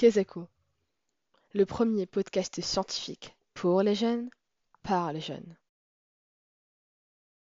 Kezako, le premier podcast scientifique pour les jeunes, par les jeunes.